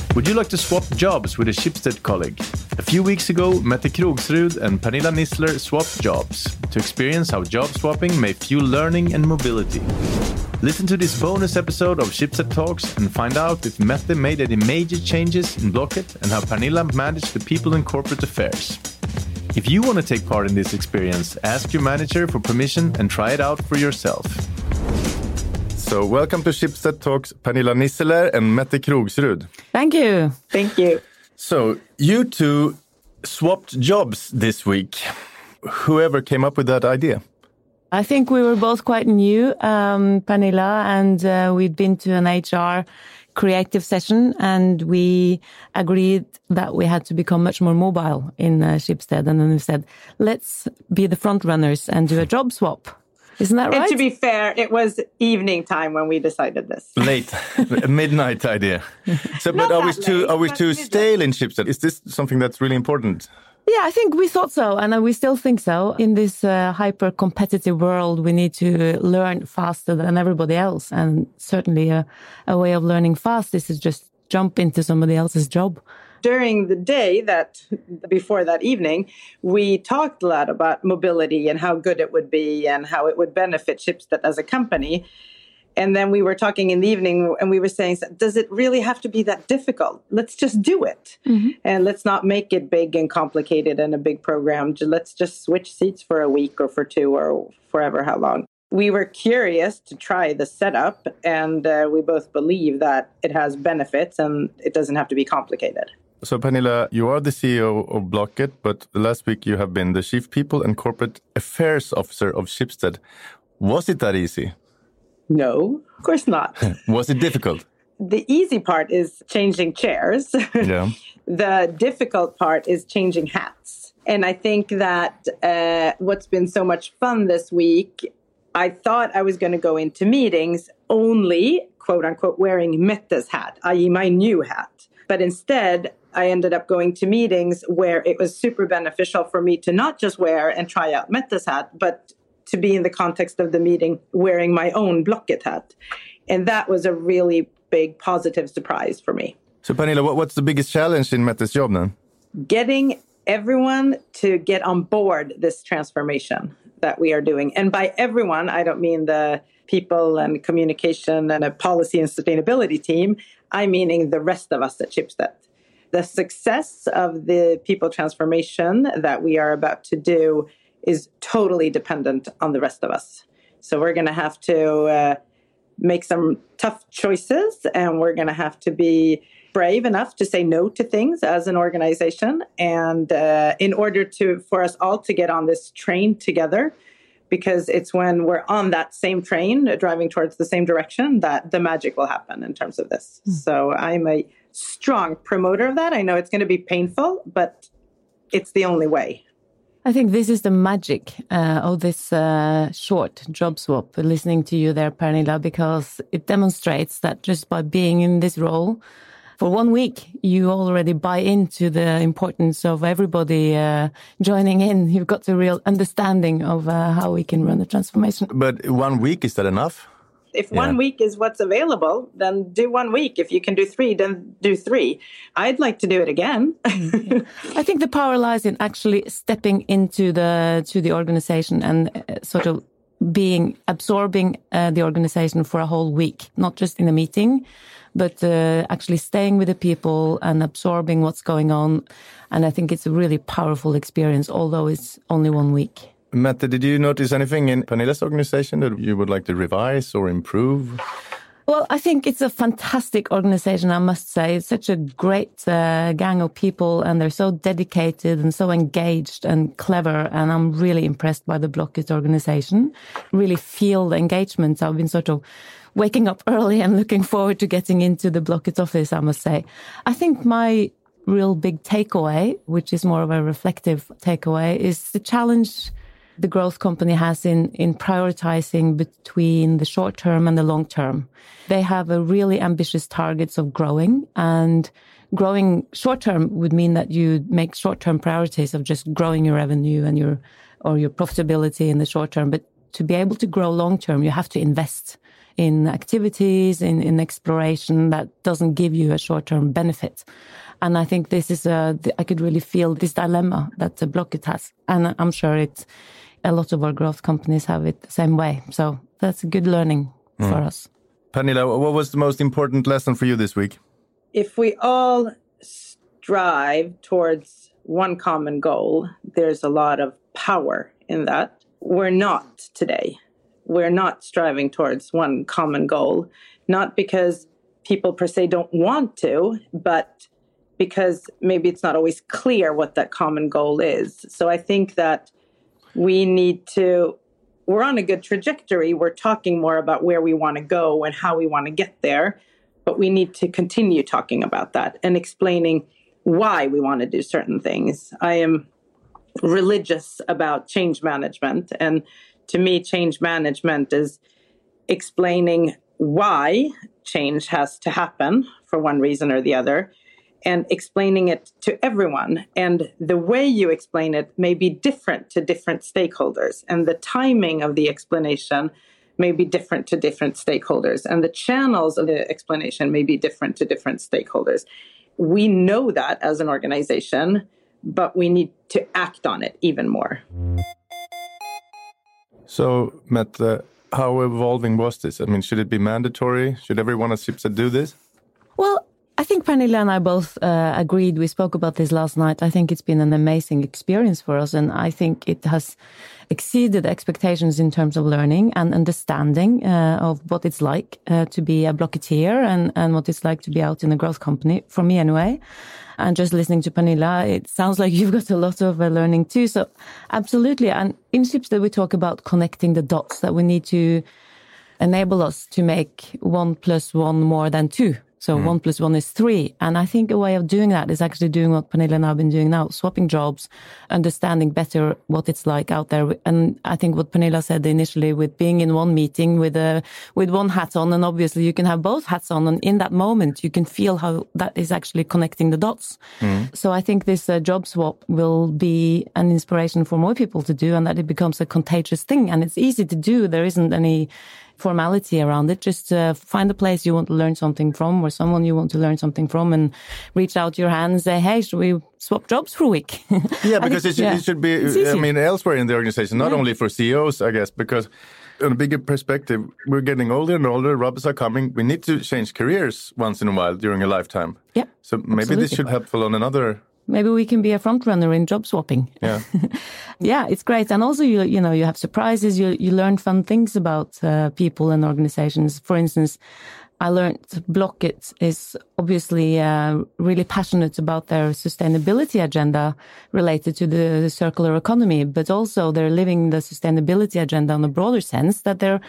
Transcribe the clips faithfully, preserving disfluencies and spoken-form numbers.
Would you like to swap jobs with a Schibsted colleague? A few weeks ago, Mette Krogsrud and Pernilla Nissler swapped jobs to experience how job swapping may fuel learning and mobility. Listen to this bonus episode of Schibsted Talks and find out if Mette made any major changes in Blocket and how Pernilla managed the people in corporate affairs. If you want to take part in this experience, ask your manager for permission and try it out for yourself. So welcome to Schibsted Talks, Pernilla Nissler and Mette Krogsrud. Thank you. Thank you. So you two swapped jobs this week. Whoever came up with that idea? I think we were both quite new, um, Pernilla, and uh, we'd been to an H R creative session, and we agreed that we had to become much more mobile in uh, Schibsted. And then we said, let's be the front runners and do a job swap. Isn't that right? And to be fair, it was evening time when we decided this. Late, a midnight idea. So, but are we too are we too stale in Schibsted? Is this something that's really important? Yeah, I think we thought so, and we still think so. In this uh, hyper-competitive world, we need to learn faster than everybody else, and certainly a, a way of learning fast is to just jump into somebody else's job. During the day that before that evening, we talked a lot about mobility and how good it would be and how it would benefit Schibsted as a company. And then we were talking in the evening and we were saying, does it really have to be that difficult? Let's just do it. Mm-hmm. And let's not make it big and complicated and a big program. Let's just switch seats for a week or for two or forever how long. We were curious to try the setup, and uh, we both believe that it has benefits and it doesn't have to be complicated. So, Pernilla, you are the C E O of Blocket, but last week you have been the Chief People and Corporate Affairs Officer of Schibsted. Was it that easy? No, of course not. Was it difficult? The easy part is changing chairs. Yeah. The difficult part is changing hats. And I think that uh, what's been so much fun this week, I thought I was going to go into meetings only, quote unquote, wearing Mette's hat, that is my new hat. But instead, I ended up going to meetings where it was super beneficial for me to not just wear and try out Mette's hat, but to be in the context of the meeting wearing my own Blocket hat. And that was a really big positive surprise for me. So, Pernilla, what, what's the biggest challenge in Mette's job then? Getting everyone to get on board this transformation that we are doing. And by everyone, I don't mean the people and communication and a policy and sustainability team. I'm meaning the rest of us at Schibsted. The success of the people transformation that we are about to do is totally dependent on the rest of us. So we're going to have to uh, make some tough choices, and we're going to have to be brave enough to say no to things as an organization. And uh, in order to for us all to get on this train together, because it's when we're on that same train, driving towards the same direction, that the magic will happen in terms of this. Mm. So I'm a strong promoter of that. I know it's going to be painful, but it's the only way. I think this is the magic uh, of this uh, short job swap, listening to you there, Pernilla, because it demonstrates that just by being in this role for one week, you already buy into the importance of everybody uh, joining in. You've got the real understanding of uh, how we can run the transformation. But one week, is that enough? If one yeah. week is what's available, then do one week. If you can do three, then do three. I'd like to do it again. yeah. I think the power lies in actually stepping into the to the organization and uh, sort of being absorbing uh, the organization for a whole week, not just in a meeting, but uh, actually staying with the people and absorbing what's going on. And I think it's a really powerful experience, although it's only one week. Mette, did you notice anything in Pernilla's organization that you would like to revise or improve? Well, I think it's a fantastic organization, I must say. It's such a great uh, gang of people, and they're so dedicated and so engaged and clever. And I'm really impressed by the Blocket organization. Really feel the engagement. I've been sort of waking up early and looking forward to getting into the Blocket office, I must say. I think my real big takeaway, which is more of a reflective takeaway, is the challenge the growth company has in, in prioritizing between the short term and the long term. They have a really ambitious targets of growing, and growing short term would mean that you make short term priorities of just growing your revenue and your, or your profitability in the short term. But to be able to grow long term, you have to invest in activities, in, in exploration that doesn't give you a short-term benefit. And I think this is a, I could really feel this dilemma that the Blocket has. And I'm sure it's, a lot of our growth companies have it the same way. So that's a good learning mm. for us. Pernilla, what was the most important lesson for you this week? If we all strive towards one common goal, there's a lot of power in that. We're not today. We're not striving towards one common goal, not because people per se don't want to, but because maybe it's not always clear what that common goal is. So I think that we need to, we're on a good trajectory. We're talking more about where we want to go and how we want to get there, but we need to continue talking about that and explaining why we want to do certain things. I am religious about change management, and to me, change management is explaining why change has to happen for one reason or the other, and explaining it to everyone. And the way you explain it may be different to different stakeholders, and the timing of the explanation may be different to different stakeholders, and the channels of the explanation may be different to different stakeholders. We know that as an organization, but we need to act on it even more. So, Mette, how evolving was this? I mean, should it be mandatory? Should everyone at Schibsted do this? Well, I think Pernilla and I both uh, agreed. We spoke about this last night. I think it's been an amazing experience for us, and I think it has exceeded expectations in terms of learning and understanding uh, of what it's like uh, to be a Blocketeer and, and what it's like to be out in a growth company, for me anyway. And just listening to Pernilla, it sounds like you've got a lot of uh, learning too. So absolutely. And in Schibsted, we talk about connecting the dots, that we need to enable us to make one plus one more than two. So mm. one plus one is three. And I think a way of doing that is actually doing what Pernilla and I have been doing now, swapping jobs, understanding better what it's like out there. And I think what Pernilla said initially with being in one meeting with a, with one hat on, and obviously you can have both hats on, and in that moment you can feel how that is actually connecting the dots. Mm. So I think this uh, job swap will be an inspiration for more people to do, and that it becomes a contagious thing. And it's easy to do. There isn't any formality around it. Just uh, find a place you want to learn something from, or someone you want to learn something from, and reach out your hand and say, hey, should we swap jobs for a week? Yeah, because think, it, should, yeah. it should be, I mean, elsewhere in the organization, not yeah. only for C E Os, I guess, because on a bigger perspective, we're getting older and older, robots are coming. We need to change careers once in a while during a lifetime. Yeah, so maybe absolutely. This should be helpful on another... Maybe we can be a front runner in job swapping. Yeah, yeah, it's great. And also, you you know, you have surprises. You you learn fun things about uh, people and organizations. For instance, I learned Blocket is obviously uh, really passionate about their sustainability agenda related to the, the circular economy, but also they're living the sustainability agenda in a broader sense, that they're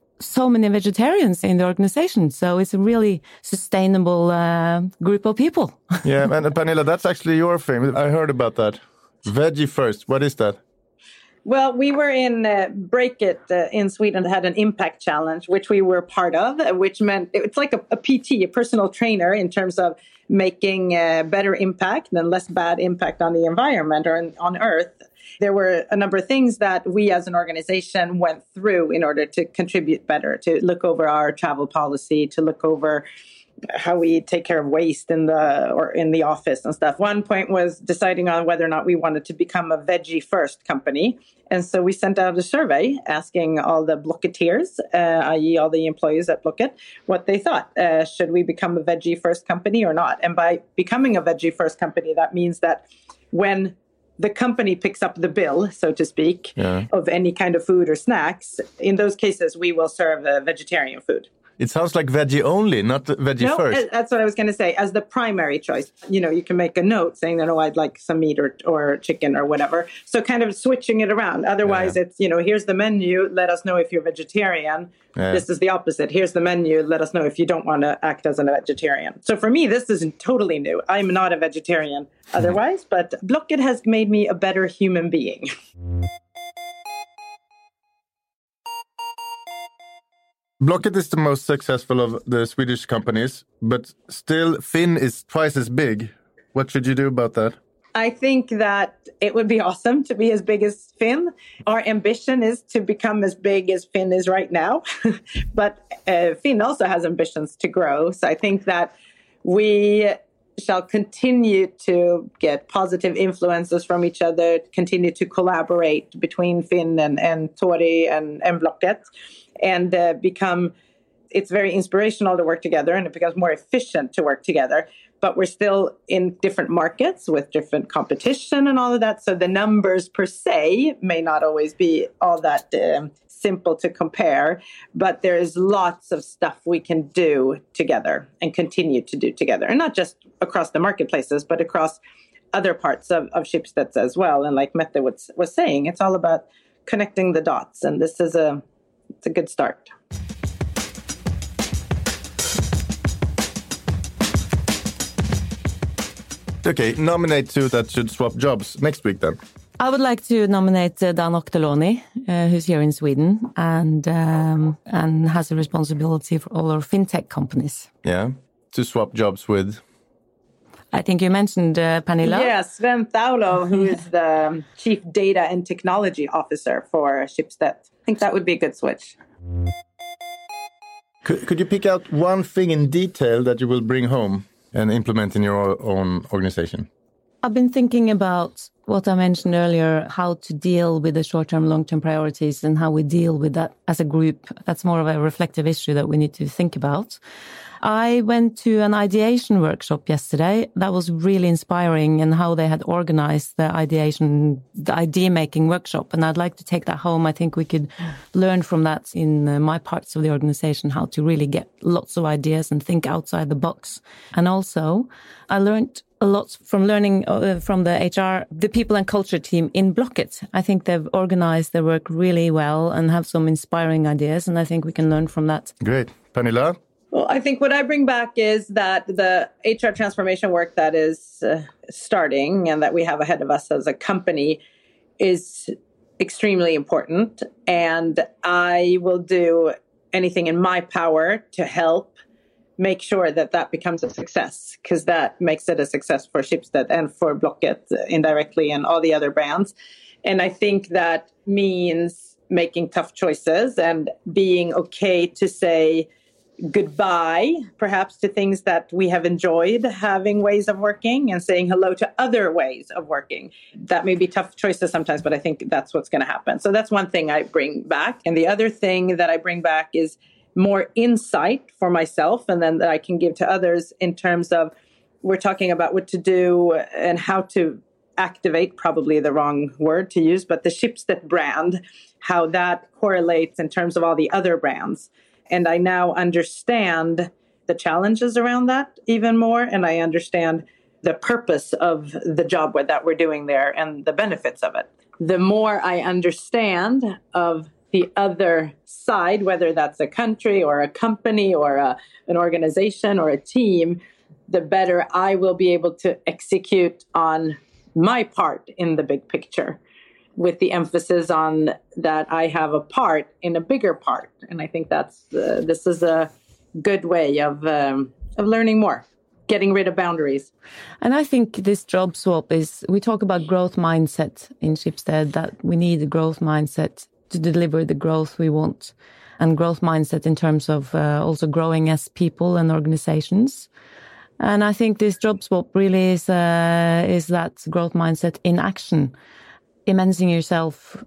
so many vegetarians in the organization. So it's a really sustainable uh, group of people. Yeah, and Pernilla, that's actually your thing. I heard about that. Veggie first. What is that? Well, we were in uh, Break It uh, in Sweden, had an impact challenge, which we were part of, uh, which meant it's like a, a P T, a personal trainer, in terms of making uh, better impact and less bad impact on the environment or in, on Earth. There were a number of things that we as an organization went through in order to contribute better, to look over our travel policy, to look over how we take care of waste in the or in the office and stuff. One point was deciding on whether or not we wanted to become a veggie first company. And so we sent out a survey asking all the Blocketeers, uh, that is all the employees at Blocket, what they thought. Uh, should we become a veggie first company or not? And by becoming a veggie first company, that means that when the company picks up the bill, so to speak, yeah. of any kind of food or snacks, in those cases, we will serve uh, vegetarian food. It sounds like veggie only, not veggie no, first. No, that's what I was going to say. As the primary choice, you know, you can make a note saying that, oh, I'd like some meat or, or chicken or whatever. So kind of switching it around. Otherwise, yeah. it's, you know, here's the menu. Let us know if you're vegetarian. Yeah. This is the opposite. Here's the menu. Let us know if you don't want to act as a vegetarian. So for me, this is totally new. I'm not a vegetarian otherwise, but Blocket has made me a better human being. Blocket is the most successful of the Swedish companies, but still Finn is twice as big. What should you do about that? I think that it would be awesome to be as big as Finn. Our ambition is to become as big as Finn is right now. But uh, Finn also has ambitions to grow. So I think that we shall continue to get positive influences from each other, continue to collaborate between Finn and, and Tori and, and Blocket, and uh, become, it's very inspirational to work together, and it becomes more efficient to work together. But we're still in different markets with different competition and all of that. So the numbers per se may not always be all that um, simple to compare. But there is lots of stuff we can do together and continue to do together. And not just across the marketplaces, but across other parts of, of Schibsted as well. And like Mette was, was saying, it's all about connecting the dots. And this is a, it's a good start. Okay, nominate two that should swap jobs next week then. I would like to nominate uh, Dan Octoloni, uh, who's here in Sweden and um, and has a responsibility for all our fintech companies. Yeah, to swap jobs with? I think you mentioned uh, Pernilla. Yes, Sven Thaulo, who is the Chief Data and Technology Officer for Schibsted. I think that would be a good switch. Could, could you pick out one thing in detail that you will bring home and implement in your own organization? I've been thinking about what I mentioned earlier, how to deal with the short-term, long-term priorities and how we deal with that as a group. That's more of a reflective issue that we need to think about. I went to an ideation workshop yesterday. That was really inspiring, and how they had organized the ideation, the idea-making workshop. And I'd like to take that home. I think we could learn from that in uh, my parts of the organization, how to really get lots of ideas and think outside the box. And also, I learned a lot from learning uh, from the H R, the people and culture team in Blocket. I think they've organized their work really well and have some inspiring ideas. And I think we can learn from that. Great. Pernilla? Well, I think what I bring back is that the H R transformation work that is uh, starting and that we have ahead of us as a company is extremely important. And I will do anything in my power to help make sure that that becomes a success, because that makes it a success for Schibsted and for Blocket indirectly and all the other brands. And I think that means making tough choices and being okay to say goodbye, perhaps, to things that we have enjoyed having ways of working, and saying hello to other ways of working. That may be tough choices sometimes, but I think that's what's going to happen. So that's one thing I bring back. And the other thing that I bring back is more insight for myself, and then that I can give to others in terms of, we're talking about what to do and how to activate, probably the wrong word to use, but the Schibsted brand, how that correlates in terms of all the other brands. And I now understand the challenges around that even more. And I understand the purpose of the job that we're doing there and the benefits of it. The more I understand of the other side, whether that's a country or a company or a, an organization or a team, the better I will be able to execute on my part in the big picture, with the emphasis on that I have a part in a bigger part. And I think that's uh, this is a good way of um, of learning more, getting rid of boundaries. And I think this job swap is, we talk about growth mindset in Schibsted, that we need a growth mindset to deliver the growth we want, and growth mindset in terms of uh, also growing as people and organizations. And I think this job swap really is uh, is that growth mindset in action. Immersing yourself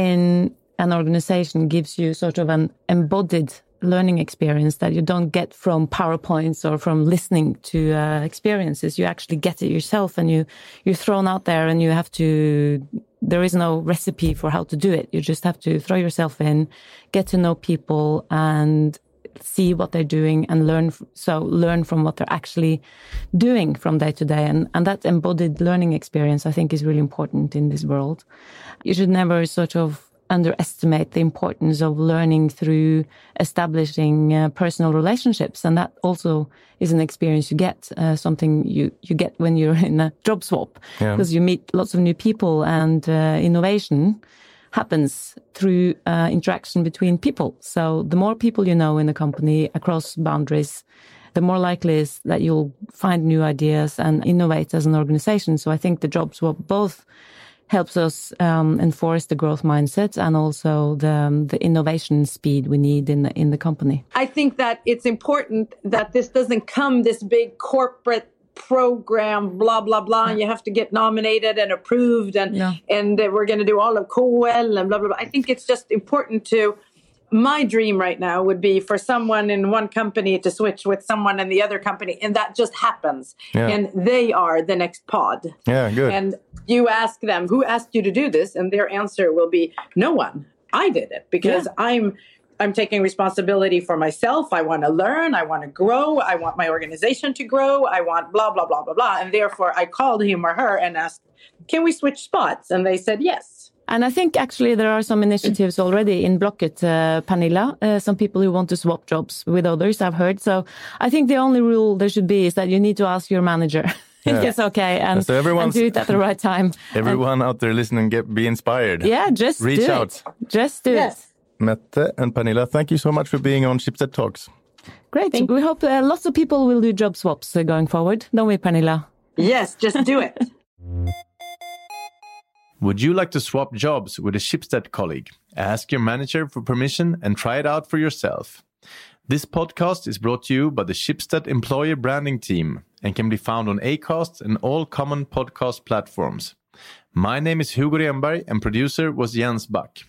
in an organization gives you sort of an embodied learning experience that you don't get from PowerPoints or from listening to uh, experiences. You actually get it yourself, and you, you're thrown out there, and you have to, there is no recipe for how to do it. You just have to throw yourself in, get to know people, and see what they're doing, and learn. So learn from what they're actually doing from day to day. And, and that embodied learning experience, I think, is really important in this world. You should never sort of underestimate the importance of learning through establishing uh, personal relationships. And that also is an experience you get, uh, something you, you get when you're in a job swap, because yeah. you meet lots of new people, and uh, innovation happens through uh, interaction between people. So the more people you know in a company across boundaries, the more likely is that you'll find new ideas and innovate as an organization. So I think the job swap both helps us um, enforce the growth mindset and also the the innovation speed we need in the, in the company. I think that it's important that this doesn't come this big corporate program, blah, blah, blah, and you have to get nominated and approved, and yeah. and we're going to do all of K L and blah, blah, blah. I think it's just important to, my dream right now would be for someone in one company to switch with someone in the other company, and that just happens. Yeah. And they are the next pod. Yeah, good. And you ask them, who asked you to do this? And their answer will be, no one. I did it because yeah. I'm I'm taking responsibility for myself. I want to learn. I want to grow. I want my organization to grow. I want blah, blah, blah, blah, blah. And therefore, I called him or her and asked, can we switch spots? And they said yes. And I think actually there are some initiatives already in Blocket, uh, Pernilla, uh, some people who want to swap jobs with others, I've heard. So I think the only rule there should be is that you need to ask your manager. Yeah. It's okay, and, so and do it at the right time. Everyone and, out there listening, get be inspired. Yeah, just Reach do out. It. Just do yes. it. Mette and Pernilla, thank you so much for being on Schibsted Talks. Great. Thank we hope uh, lots of people will do job swaps uh, going forward. Don't we, Pernilla? Yes, just do it. Would you like to swap jobs with a Schibsted colleague? Ask your manager for permission and try it out for yourself. This podcast is brought to you by the Schibsted Employer Branding Team and can be found on Acast and all common podcast platforms. My name is Hugo Renberg and producer was Jens Back.